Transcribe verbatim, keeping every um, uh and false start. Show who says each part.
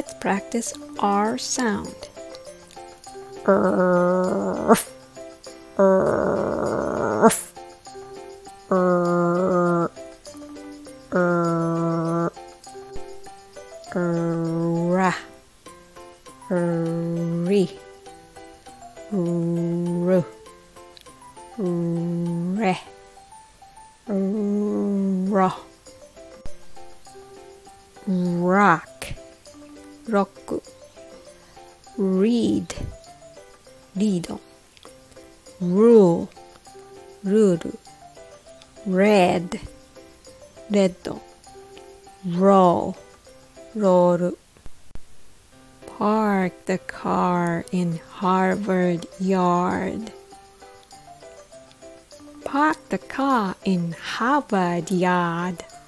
Speaker 1: Let's practice R sound. Ra, ri, ru, re, ro, rock, roku, read, rido, rule, ruru, red, reddo, roll, roru. Park the car in Harvard Yard. Park the car in Harvard Yard.